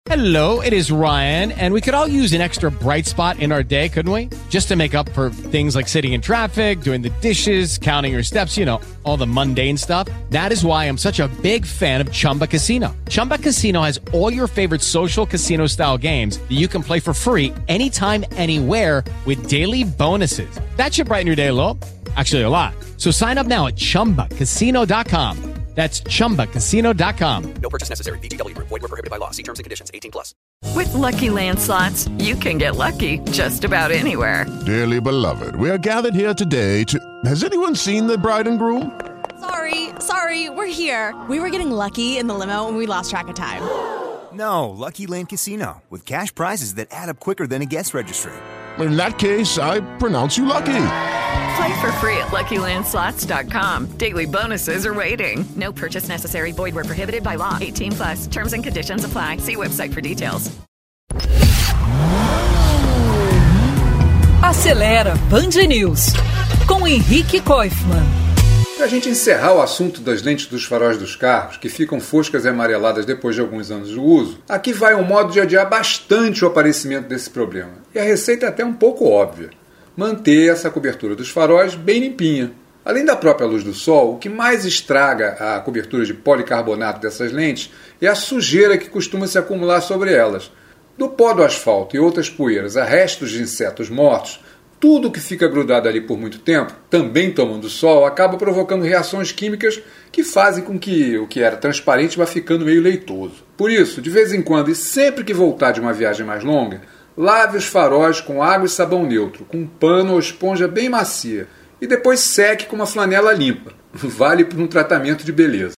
Hello, it is Ryan, and we could all use an extra bright spot in our day, couldn't we? Just to make up for things like sitting in traffic, doing the dishes, counting your steps, you know, all the mundane stuff. That is why I'm such a big fan of Chumba Casino. Chumba Casino has all your favorite social casino-style games that you can play for free anytime, anywhere with daily bonuses. That should brighten your day a little. Actually, a lot. So sign up now at ChumbaCasino.com. That's ChumbaCasino.com. No purchase necessary. VGW Group. Void where prohibited by law. See terms and conditions. 18+. With Lucky Land Slots, you can get lucky just about anywhere. Dearly beloved, we are gathered here today to... Has anyone seen the bride and groom? Sorry, we're here. We were getting lucky in the limo and we lost track of time. No, Lucky Land Casino, with cash prizes that add up quicker than a guest registry. In that case, I pronounce you lucky. Play for free at LuckyLandSlots.com. Daily bonuses are waiting. No purchase necessary. Void where prohibited by law. 18+. Terms and conditions apply. See website for details. Acelera Band News com Henrique Koifman. Para a gente encerrar o assunto das lentes dos faróis dos carros, que ficam foscas e amareladas depois de alguns anos de uso, aqui vai um modo de adiar bastante o aparecimento desse problema. E a receita é até um pouco óbvia. Manter essa cobertura dos faróis bem limpinha. Além da própria luz do sol, o que mais estraga a cobertura de policarbonato dessas lentes é a sujeira que costuma se acumular sobre elas. Do pó do asfalto e outras poeiras a restos de insetos mortos, tudo que fica grudado ali por muito tempo, também tomando sol, acaba provocando reações químicas que fazem com que o que era transparente vá ficando meio leitoso. Por isso, de vez em quando e sempre que voltar de uma viagem mais longa, lave os faróis com água e sabão neutro, com um pano ou esponja bem macia, e depois seque com uma flanela limpa. Vale por um tratamento de beleza.